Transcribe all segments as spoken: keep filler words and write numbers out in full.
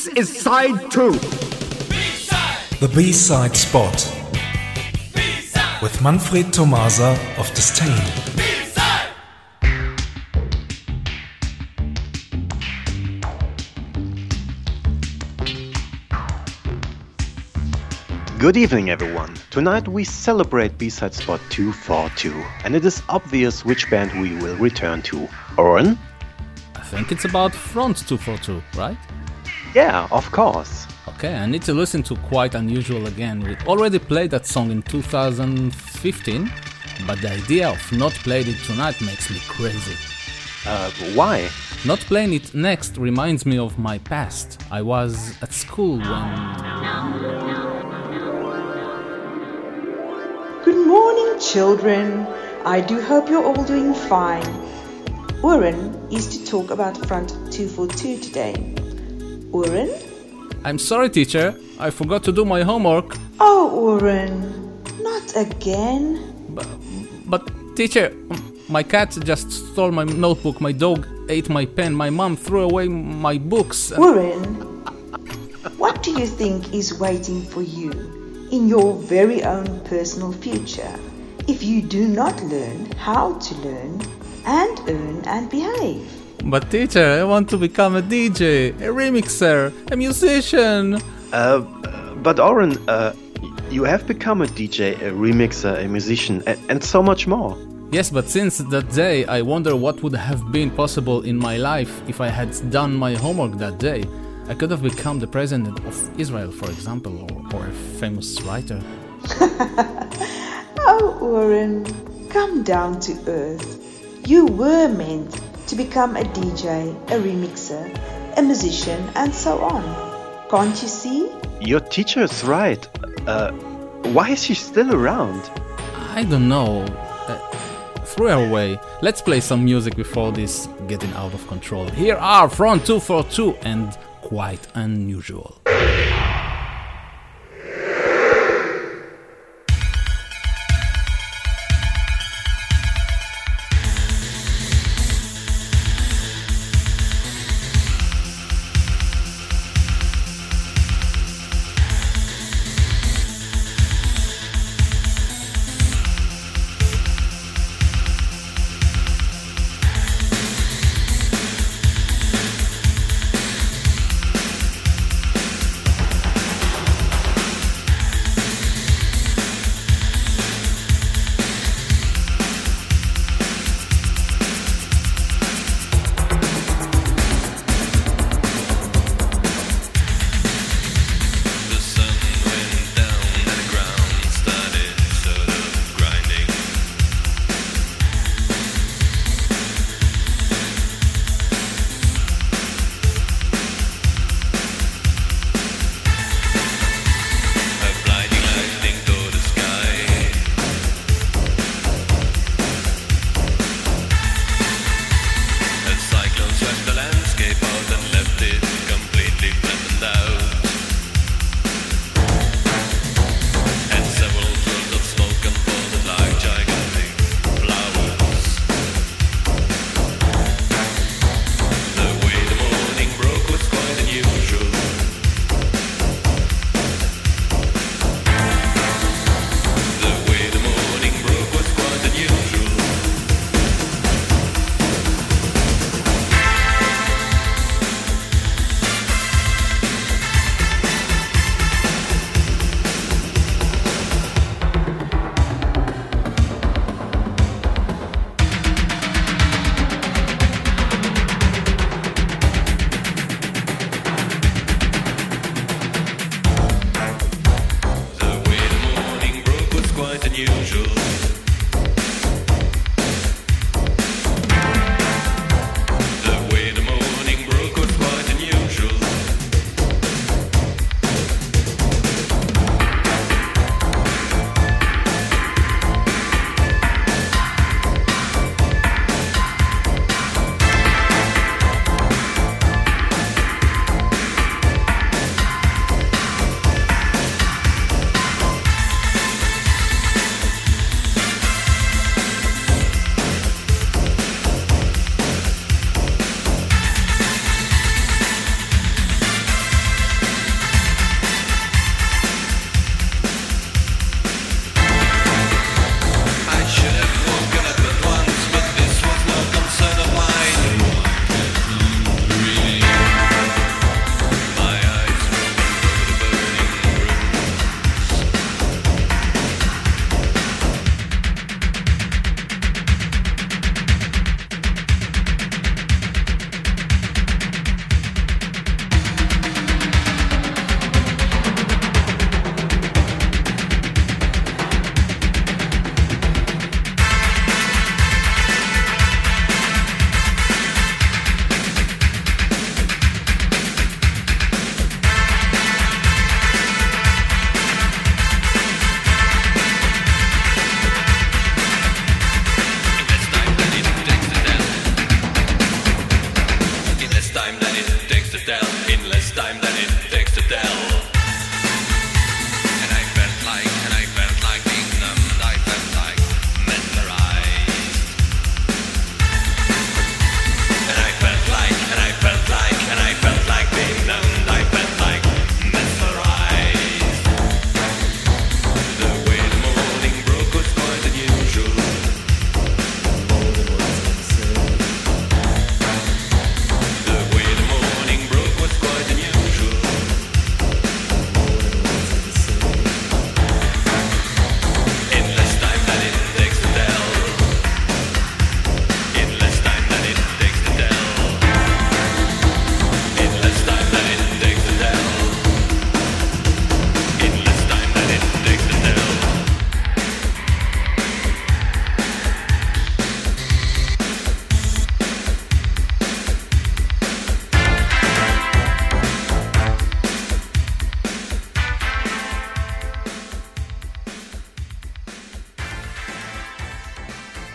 This is side two. B-side. The B-side spot. B-side. With Manfred Tomasa of Disdain. B-side. Good evening, everyone. Tonight we celebrate B-side spot two forty-two, and it is obvious which band we will return to. Oren? I think it's about Front two forty-two, right? Yeah, of course. Okay, I need to listen to Quite Unusual again. We already played that song in two thousand fifteen, but the idea of not playing it tonight makes me crazy. Uh, why? Not playing it next reminds me of my past. I was at school when... Good morning, children. I do hope you're all doing fine. Oren is to talk about Front two forty-two today. Oren? I'm sorry, teacher. I forgot to do my homework. Oh, Oren. Not again. But, but teacher, my cat just stole my notebook, my dog ate my pen, my mom threw away my books. And... Oren, what do you think is waiting for you in your very own personal future if you do not learn how to learn and earn and behave? But teacher, I want to become a D J, a remixer, a musician. Uh, but Oren, uh, you have become a D J, a remixer, a musician, and, and so much more. Yes, but since that day, I wonder what would have been possible in my life if I had done my homework that day. I could have become the president of Israel, for example, or, or a famous writer. Oh, Oren, come down to earth. You were meant to become a D J, a remixer, a musician, and so on. Can't you see? Your teacher is right. Uh, why is she still around? I don't know. Uh, throw her away. Let's play some music before this getting out of control. Here are Front two forty-two and Quite Unusual.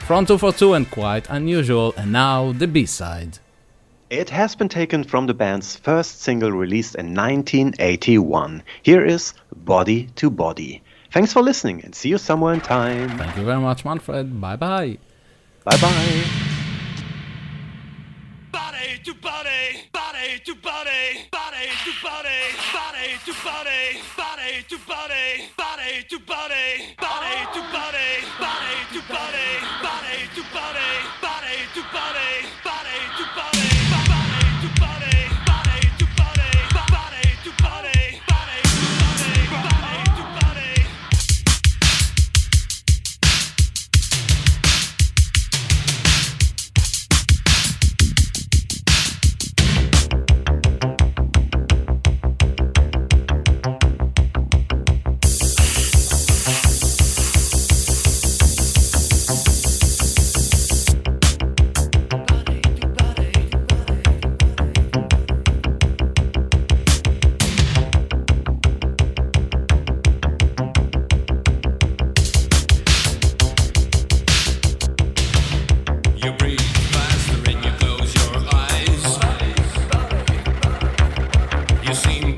From two forty-two and Quite Unusual, and now the B-side. It has been taken from the band's first single released in nineteen eighty-one. Here is Body to Body. Thanks for listening and see you somewhere in time. Thank you very much, Manfred. Bye-bye. Bye-bye. Body to body, body to body, body to body, body to body, body to body, body to body, body to body, body to body, body to body, body to body, body to body. You seem